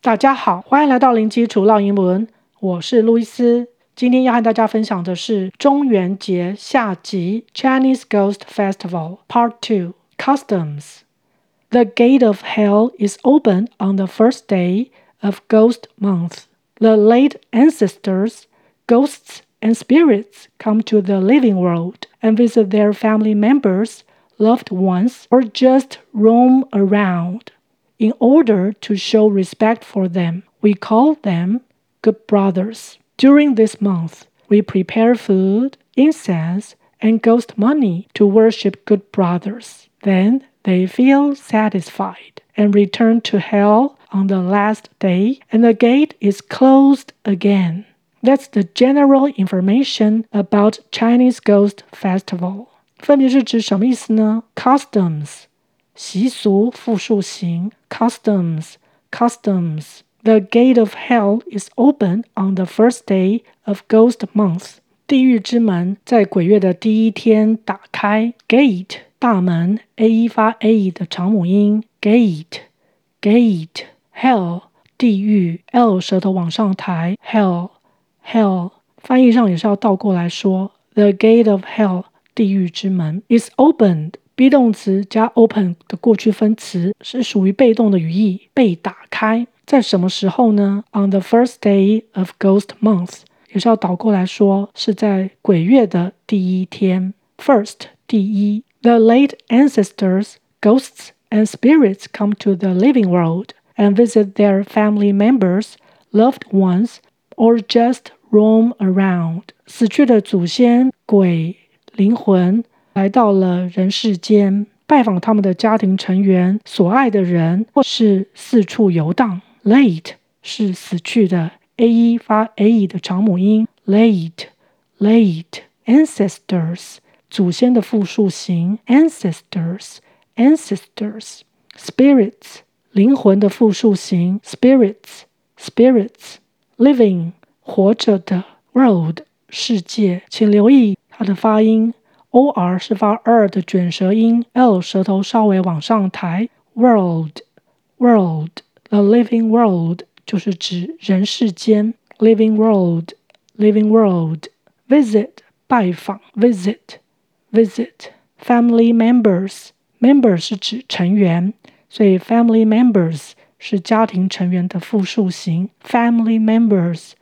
大家好，歡迎來到零基礎烙英文，我是路易斯。今天要和大家分享的是中元節下集 Chinese Ghost Festival Part 2 Customs. The gate of hell is open on the first day of Ghost Month. The late ancestors, ghosts and spirits come to the living world and visit their family members, loved ones, or just roam around.In order to show respect for them, we call them good brothers. During this month, we prepare food, incense, and ghost money to worship good brothers. Then they feel satisfied and return to hell on the last day, and the gate is closed again. That's the general information about Chinese Ghost Festival. 分別是指什麼意思呢？ Customs習俗複數形 customs. The gate of hell is open on the first day of Ghost Month. 地獄之門在鬼月的第一天打開 Gate 大門 A 發 A 的長母音 Gate Hell 地獄 L 舌頭往上抬 Hell 翻譯上也是要倒過來說 The gate of hell 地獄之門 is opened.be 動詞加 open 的過去分詞是屬於被動的語義，被打開。在什麼時候呢？ On the first day of Ghost Month 也是要倒過來說，是在鬼月的第一天。First 第一 The late ancestors, ghosts and spirits come to the living world and visit their family members, loved ones, or just roam around. 死去的祖先、鬼、靈魂來到了人世間，拜訪他們的家庭成員、所愛的人，或是四處遊蕩。Late 是死去的 A 發 A 的長母音 late Ancestors 祖先的複數形 ancestors Spirits 靈魂的複數形 spirits Living 活着的 World 世界，請留意它的發音OR 是發2的捲舌音 L 舌頭稍微往上抬 World The living world 就是指人世間 Living world Visit 拜訪 Visit Family members 是指成員，所以 family members 是家庭成員的複數形 Family members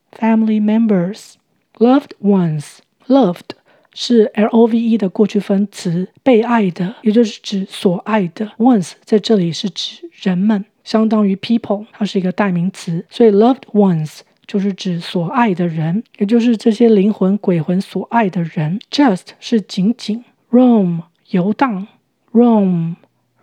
Loved ones Loved是 love 的過去分詞，被愛的，也就是指所愛的 ones 在這裡是指人們，相當於 people 它是一個代名詞，所以 loved ones 就是指所愛的人，也就是這些靈魂鬼魂所愛的人。 just 是僅僅 roam 遊蕩 roam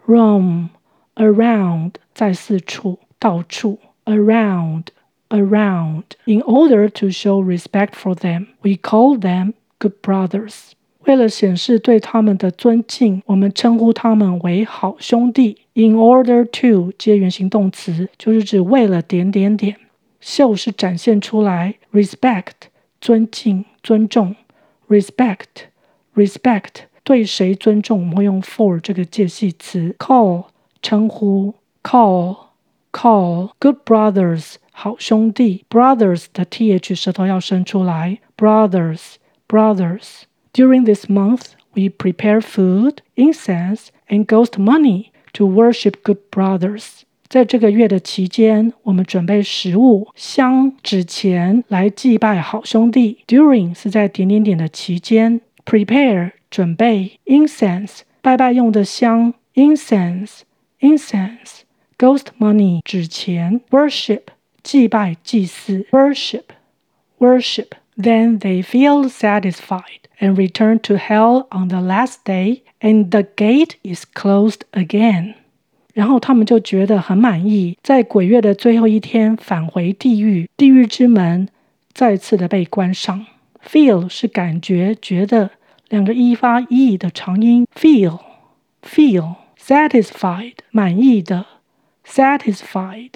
around 在四處到處 around In order to show respect for them, we call them good brothers. 為了顯示對他們的尊敬，我們稱呼他們為好兄弟。In order to 接原形動詞，就是指為了點點點。show 是展現出來 respect 尊敬尊重 respect 對誰尊重，我們會用 for 這個介系詞。call 稱呼 call good brothers 好兄弟 brothers 的 th 舌頭要伸出來 brothers During this month, we prepare food, incense, and ghost money to worship good brothers. 在這個月的期間，我們準備食物、香、紙錢來祭拜好兄弟。During 是在點點點的期間 ，prepare 準備 incense 拜拜用的香 incense ghost money 紙錢 worship 祭拜祭祀 worship。Then they feel satisfied and return to hell on the last day, and the gate is closed again. 然後他們就覺得很滿意，在鬼月的最後一天返回地獄，地獄之門再次的被關上。Feel 是感覺、覺得，兩個 e 發 e 的長音 feel satisfied 滿意的 satisfied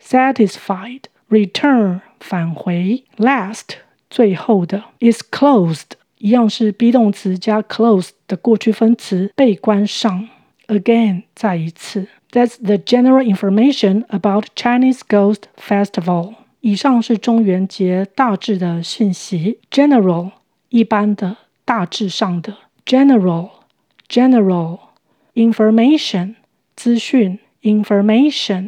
return 返回 last最後的 is closed 一樣是 be 動詞加 close 的過去分詞被關上 again 再一次 That's the general information about Chinese Ghost Festival. 以上是中元節大致的訊息。General 一般的，大致上的。General Information 資訊 Information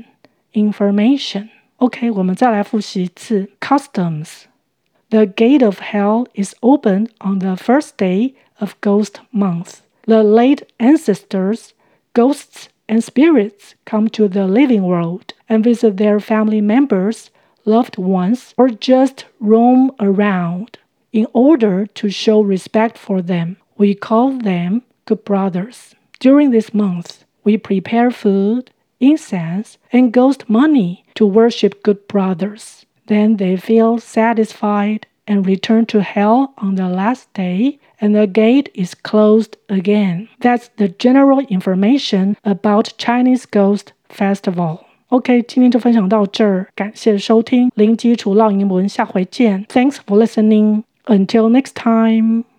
OK， 我們再來複習一次。Customs The gate of hell is opened on the first day of Ghost Month. The late ancestors, ghosts, and spirits come to the living world and visit their family members, loved ones, or just roam around. In order to show respect for them, we call them good brothers. During this month, we prepare food, incense, and ghost money to worship good brothers. Then they feel satisfied and return to hell on the last day, and the gate is closed again. That's the general information about Chinese Ghost Festival. OK， 今天就分享到這兒，感謝收聽零基礎烙英文，下回見。Thanks for listening. Until next time.